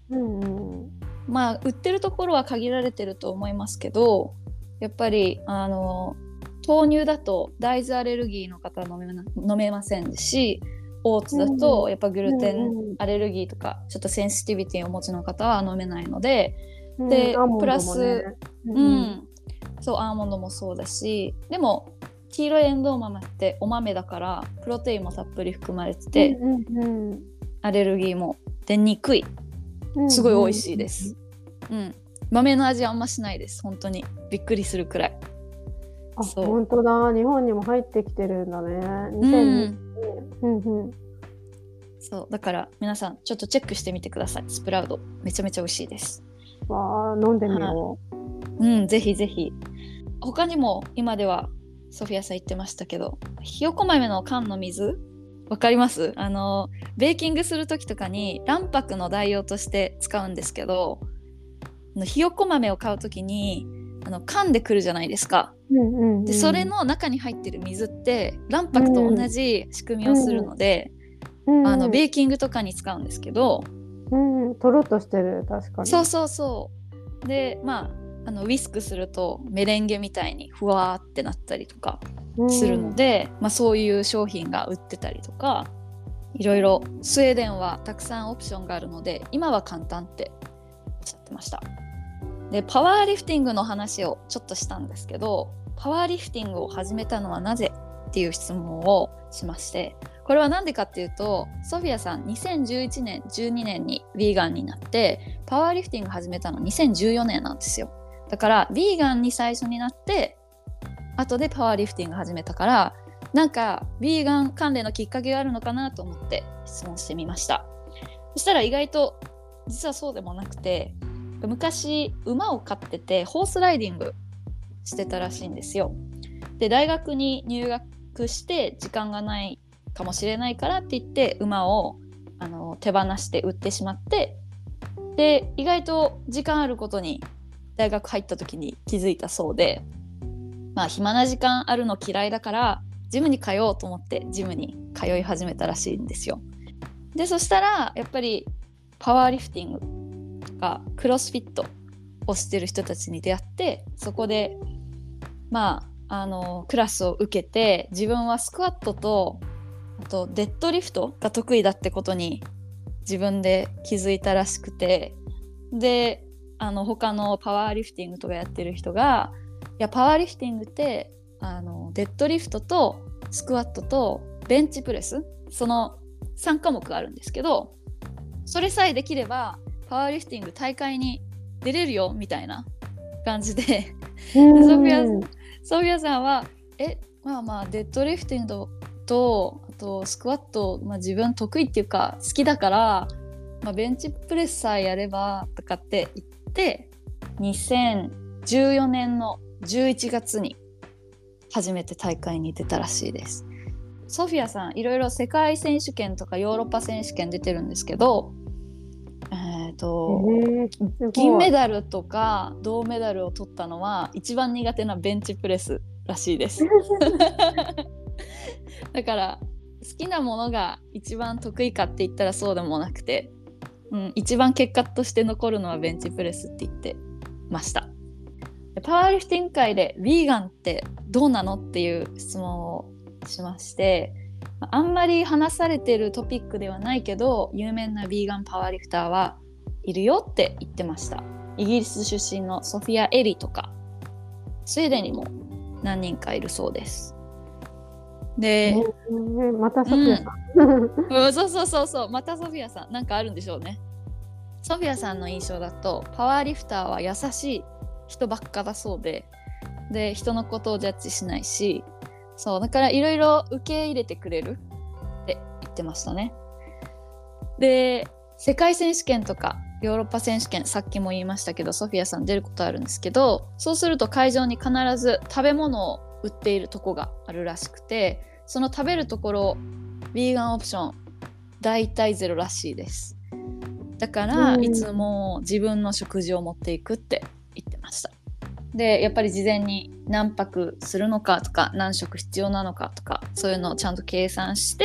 うんうんまあ売ってるところは限られてると思いますけど、やっぱりあの豆乳だと大豆アレルギーの方は飲めな、飲めませんし、オーツだとやっぱグルテンアレルギーとかちょっとセンシティビティをお持ちの方は飲めないので、 うん、 でアーモンドもねプラス、 うんうん、そうアーモンドもそうだし、でも黄色いエンドウ豆ってお豆だからプロテインもたっぷり含まれてて、 うんうんアレルギーも出にくい、 うん、 すごい美味しいです、うんうん、豆の味あんましないです。本当にびっくりするくらい。 あ、 そう本当だ、日本にも入ってきてるんだね。にせんにじゅうねん、うんうん、 そうだから皆さんちょっとチェックしてみてください。スプラウドめちゃめちゃ美味しいです。 わー、飲んでみよう、うん、ぜひぜひ。他にも今ではソフィアさん言ってましたけど、ひよこ豆の缶の水わかります？あのベーキングする時とかに卵白の代用として使うんですけど、ひよこ豆を買う時にあの缶でくるじゃないですか、 う。うんうんうん、 でそれの中に入ってる水って卵白と同じ仕組みをするので、 うんうん、 あのベーキングとかに使うんですけど、 うんうん、とろっとしてる、確かに。 そうそうそうで、まあ、あのウィスクするとメレンゲみたいにふわーってなったりとかするので、うんまあ、そういう商品が売ってたりとか、いろいろスウェーデンはたくさんオプションがあるので今は簡単っておっしゃってました。でパワーリフティングの話をちょっとしたんですけど、パワーリフティングを始めたのはなぜっていう質問をしまして、これは何でかっていうと、ソフィアさんにせんじゅういちねんじゅうにねんにヴィーガンになってパワーリフティング始めたのにせんじゅうよねんなんですよ。だからヴィーガンに最初になって後でパワーリフティング始めたから、なんかヴィーガン関連のきっかけがあるのかなと思って質問してみました。そしたら意外と実はそうでもなくて、昔馬を飼っててホースライディングしてたらしいんですよ。で大学に入学して時間がないかもしれないからって言って馬をあの手放して売ってしまって、で意外と時間あることに大学入った時に気づいたそうで、まあ暇な時間あるの嫌いだからジムに通おうと思ってジムに通い始めたらしいんですよ。でそしたらやっぱりパワーリフティングとかクロスフィットをしてる人たちに出会って、そこでまああのクラスを受けて、自分はスクワットとあとデッドリフトが得意だってことに自分で気づいたらしくて、であの他のパワーリフティングとかやってる人が、いやパワーリフティングってあのデッドリフトとスクワットとベンチプレス、そのさんかもくあるんですけど、それさえできればパワーリフティング大会に出れるよみたいな感じで、でソフィア、ソフィアさんはえまあまあデッドリフティングとあとスクワット、まあ、自分得意っていうか好きだから、まあ、ベンチプレスさえやればとかって言ってにせんじゅうよねんのじゅういちがつに初めて大会に出たらしいです。ソフィアさんいろいろ世界選手権とかヨーロッパ選手権出てるんですけど、えーとえー、銀メダルとか銅メダルを取ったのは一番苦手なベンチプレスらしいですだから好きなものが一番得意かって言ったらそうでもなくて、うん、一番結果として残るのはベンチプレスって言ってました。パワーリフティング界でヴィーガンってどうなのっていう質問をしまして、あんまり話されてるトピックではないけど有名なヴィーガンパワーリフターはいるよって言ってました。イギリス出身のソフィア・エリとかスウェーデンにも何人かいるそうです。で、 えー、またソフィアさん、 うん、そうそうそうそう、またソフィアさんなんかあるんでしょうね。ソフィアさんの印象だとパワーリフターは優しい人ばっかだそうで、で人のことをジャッジしないし、そうだからいろいろ受け入れてくれるって言ってましたね。で世界選手権とかヨーロッパ選手権、さっきも言いましたけどソフィアさん出ることあるんですけど、そうすると会場に必ず食べ物を売っているとこがあるらしくて、その食べるところヴィーガンオプションだいたいゼロらしいです。だからいつも自分の食事を持っていくって言ってました。でやっぱり事前に何泊するのかとか何食必要なのかとかそういうのをちゃんと計算して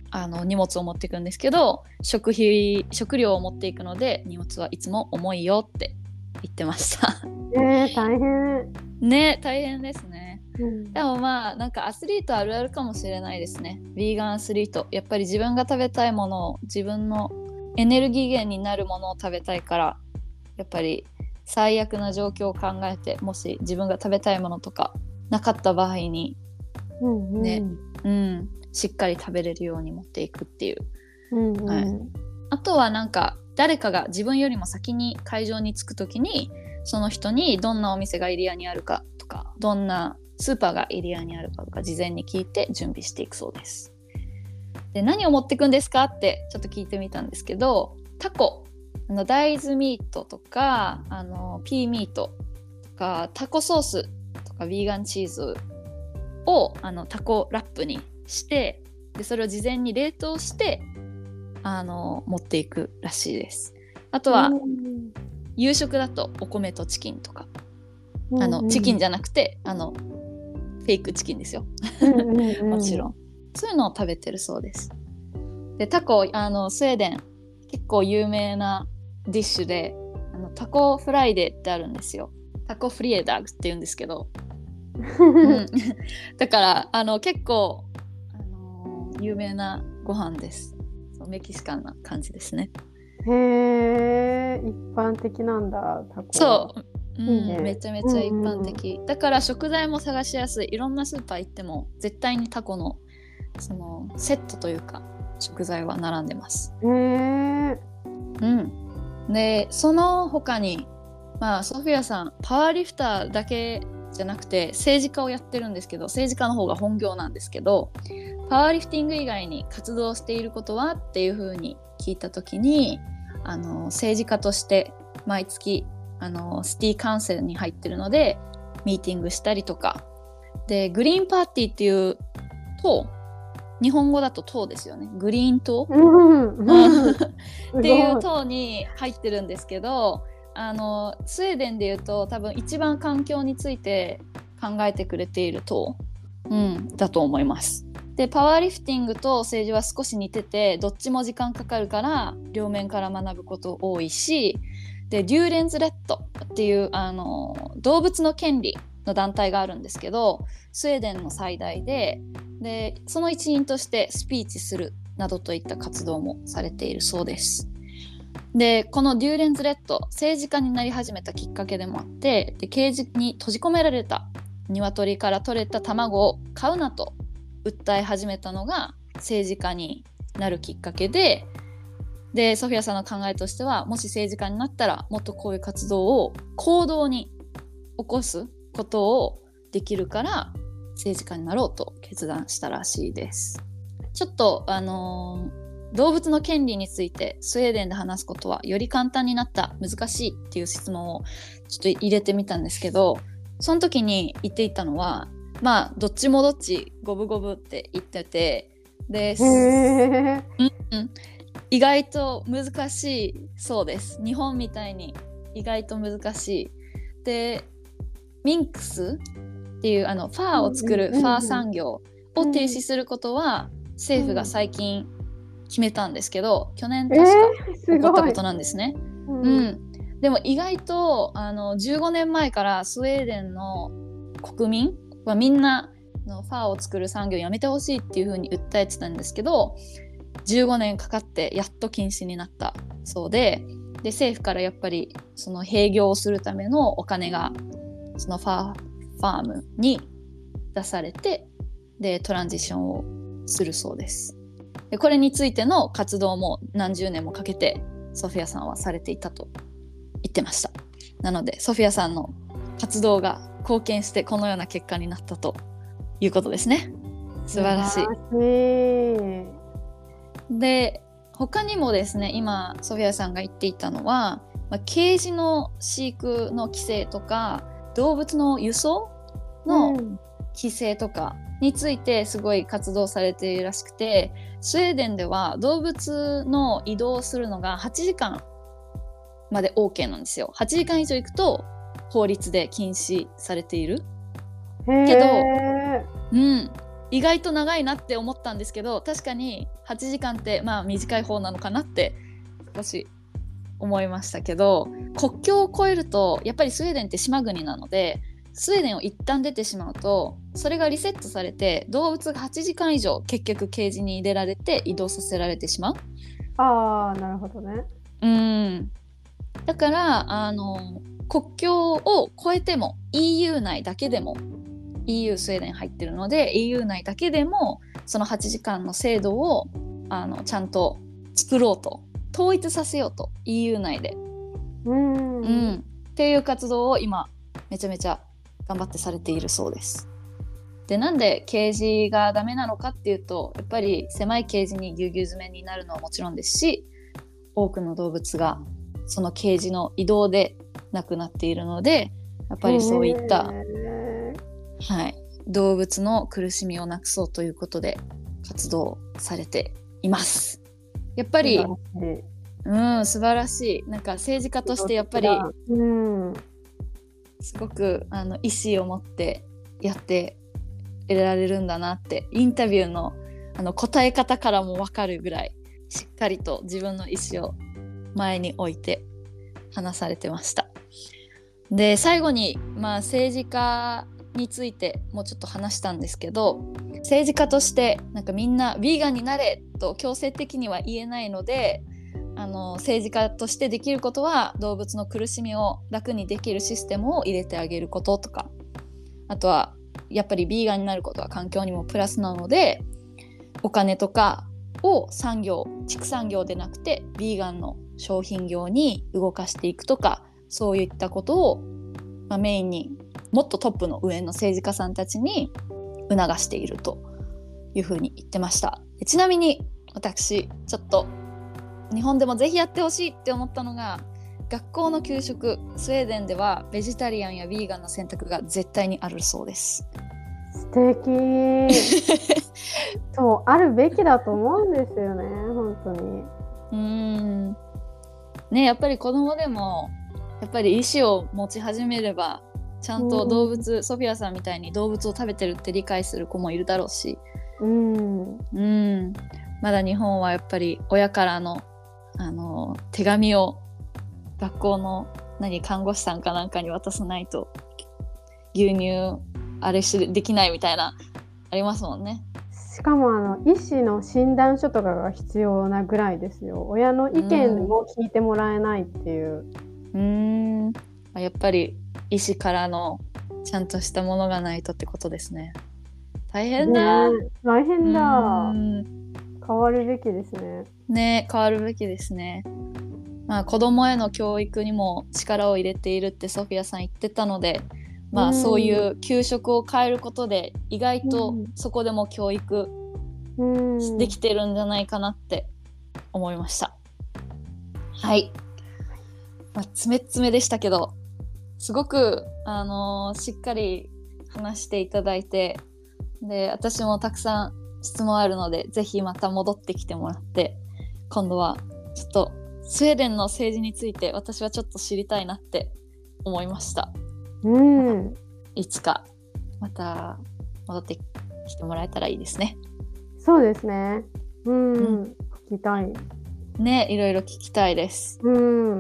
あの荷物を持っていくんですけど、食費食料を持っていくので荷物はいつも重いよって言ってましたえー、大変。 ね、大変ですね。 うん、 でもまあなんかアスリートあるあるかもしれないですね。ヴィーガンアスリート、やっぱり自分が食べたいものを、自分のエネルギー源になるものを食べたいから、やっぱり最悪な状況を考えて、もし自分が食べたいものとかなかった場合にうんうん、 ね、うん、しっかり食べれるように持っていくっていう、 うんうん、 はい、あとはなんか誰かが自分よりも先に会場に着くときに、その人にどんなお店がエリアにあるかとか、どんなスーパーがエリアにあるかとか事前に聞いて準備していくそうです。で、何を持っていくんですかってちょっと聞いてみたんですけど、タコ、あの大豆ミートとか、あのピーミートとか、タコソースとか、ヴィーガンチーズをあのタコラップにして、でそれを事前に冷凍してあの持っていくらしいです。あとは、うん、夕食だとお米とチキンとか、うんうん、あのチキンじゃなくてあのフェイクチキンですよもちろんそういうのを食べてるそうです。で、タコ、あのスウェーデン結構有名なディッシュで、あのタコフライデーってあるんですよ。タコフリエダグって言うんですけど、うん、だからあの結構、あのー、有名なご飯です。そう、メキシカンな感じですね。 へえ、一般的なんだ、タコは。 そう、うん、いいね、めちゃめちゃ一般的、うんうん、だから食材も探しやすい。いろんなスーパー行っても絶対にタコのそのセットというか食材は並んでます。 へえ、 うん。で、その他に、まあソフィアさんパワーリフターだけじゃなくて政治家をやってるんですけど、政治家の方が本業なんですけど、パワーリフティング以外に活動していることはっていう風に聞いた時に、あの政治家として毎月あのシティカウンセルに入ってるのでミーティングしたりとかで、グリーンパーティーっていう党、日本語だと党ですよね、グリーン党、うん、っていう党に入ってるんですけど、あのスウェーデンでいうと多分一番環境について考えてくれている党、うん、だと思います。で、パワーリフティングと政治は少し似てて、どっちも時間かかるから両面から学ぶこと多いし、でデューレンズレッドっていうあの動物の権利の団体があるんですけど、スウェーデンの最大で、でその一員としてスピーチするなどといった活動もされているそうです。で、このデューレンズレッド、政治家になり始めたきっかけでもあって、でケージに閉じ込められた鶏から取れた卵を買うなと訴え始めたのが政治家になるきっかけで、でソフィアさんの考えとしては、もし政治家になったらもっとこういう活動を行動に起こすことをできるから政治家になろうと決断したらしいです。ちょっとあのー動物の権利についてスウェーデンで話すことはより簡単になった、難しいっていう質問をちょっと入れてみたんですけど、その時に言っていたのは、まあどっちもどっち五分五分って言ってて、で、うんうん、意外と難しいそうです。日本みたいに意外と難しい。で、ミンクスっていうあのファーを作るファー産業を停止することは政府が最近決めたんですけど、去年確か起こったことなんですね。えーうんうん、でも意外とあのじゅうごねんまえからスウェーデンの国民はみんなのファーを作る産業をやめてほしいっていう風に訴えてたんですけど、じゅうごねんかかってやっと禁止になったそうで、で政府からやっぱりその併業をするためのお金がそのファー、ファームに出されて、でトランジションをするそうです。でこれについての活動も何十年もかけてソフィアさんはされていたと言ってました。なのでソフィアさんの活動が貢献してこのような結果になったということですね。素晴らしい。で、他にもですね、今ソフィアさんが言っていたのは、まあ、ケージの飼育の規制とか動物の輸送の規制とかについてすごい活動されているらしくて、スウェーデンでは動物の移動するのがはちじかんまで OK なんですよ。はちじかん以上行くと法律で禁止されているけど、うん、 意外と長いなって思ったんですけど、確かにはちじかんってまあ短い方なのかなって少し思いましたけど、国境を越えるとやっぱりスウェーデンって島国なので、スウェーデンを一旦出てしまうとそれがリセットされて、動物がはちじかん以上結局ケージに入れられて移動させられてしまう。 ああ、なるほどね。 うんだからあの国境を越えても イーユー 内だけでも イーユー スウェーデン入ってるので イーユー 内だけでもそのはちじかんの制度をあのちゃんと作ろうと、統一させようと イーユー 内で、 うんうん、っていう活動を今めちゃめちゃ頑張ってされているそうです。で、なんでケージがダメなのかっていうと、やっぱり狭いケージにぎゅうぎゅう詰めになるのはもちろんですし、多くの動物がそのケージの移動で亡くなっているので、やっぱりそういった、はい、動物の苦しみをなくそうということで活動されています。やっぱりうん素晴らしい。なんか政治家としてやっぱり、うん、すごくあの意思を持ってやって得られるんだなって、インタビューのあの答え方からも分かるぐらいしっかりと自分の意思を前に置いて話されてました。で、最後に、まあ、政治家についてもうちょっと話したんですけど、政治家としてなんかみんなヴィーガンになれと強制的には言えないので、あの政治家としてできることは動物の苦しみを楽にできるシステムを入れてあげることとか、あとはやっぱりヴィーガンになることは環境にもプラスなので、お金とかを産業、畜産業でなくてヴィーガンの商品業に動かしていくとか、そういったことを、まあ、メインにもっとトップの上の政治家さんたちに促しているというふうに言ってました。で、ちなみに私ちょっと日本でもぜひやってほしいって思ったのが、学校の給食、スウェーデンではベジタリアンやヴィーガンの選択が絶対にあるそうです。 素敵そうあるべきだと思うんですよね、本当に。うーんね、やっぱり子供でもやっぱり意思を持ち始めれば、ちゃんと動物、ソフィアさんみたいに動物を食べてるって理解する子もいるだろうし、うんうんまだ日本はやっぱり親からのあの手紙を学校の何看護師さんかなんかに渡さないと牛乳あれしできないみたいなありますもんね。 しかもあの医師の診断書とかが必要なぐらいですよ。親の意見を聞いてもらえないっていう。 うーんやっぱり医師からのちゃんとしたものがないとってことですね。大変だ、 ね、大変だ。変わるべきですね。 ね、変わるべきですね。まあ子供への教育にも力を入れているってソフィアさん言ってたので、まあそういう給食を変えることで意外とそこでも教育できてるんじゃないかなって思いました。はい、まあ、詰め詰めでしたけど、すごく、あのー、しっかり話していただいて、で私もたくさん質問あるのでぜひまた戻ってきてもらって、今度はちょっとスウェーデンの政治について私はちょっと知りたいなって思いました。うん、いつかまた戻ってきてもらえたらいいですね。 そうですね。うん、うん、聞きたいね、いろいろ聞きたいです。うん、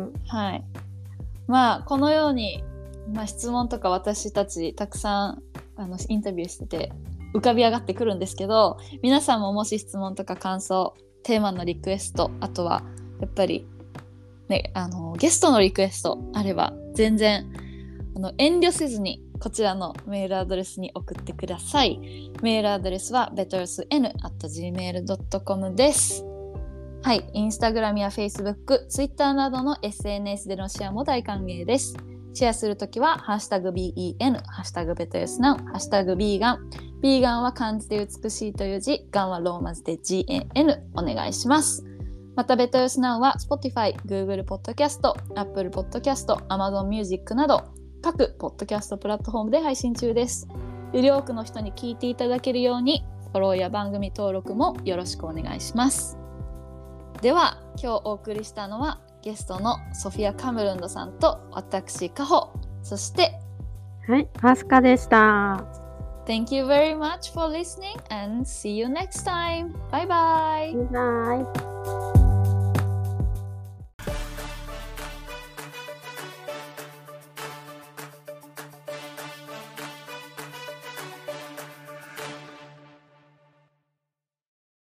はい。まあこのように、まあ、質問とか私たちたくさんあのインタビューしてて浮かび上がってくるんですけど、皆さんももし質問とか感想、テーマのリクエスト、あとはやっぱり、ね、あのゲストのリクエストあれば全然あの遠慮せずにこちらのメールアドレスに送ってください。メールアドレスは ベトルスエヌ アット ジーメール ドット コム です。はい、インスタグラムやフェイスブック、ツイッターなどの エスエヌエス でのシェアも大歓迎です。シェアするときはハッシュタグ ビーイーエヌ、ハッシュタグベトヨスナウ、ハッシュタグビーガン、ビーガンは漢字で美しいという字、ガンはローマ字で ジーエーエヌ お願いします。またベトヨスナウは Spotify、Google Podcast、Apple Podcast、Amazon Music など各ポッドキャストプラットフォームで配信中です。より多くの人に聞いていただけるようにフォローや番組登録もよろしくお願いします。では今日お送りしたのはゲストのソフィア・カムルンドさんと私カホ、そしてはい、アスカでした。 Thank you very much for listening and see you next time. Bye bye. バイバイ。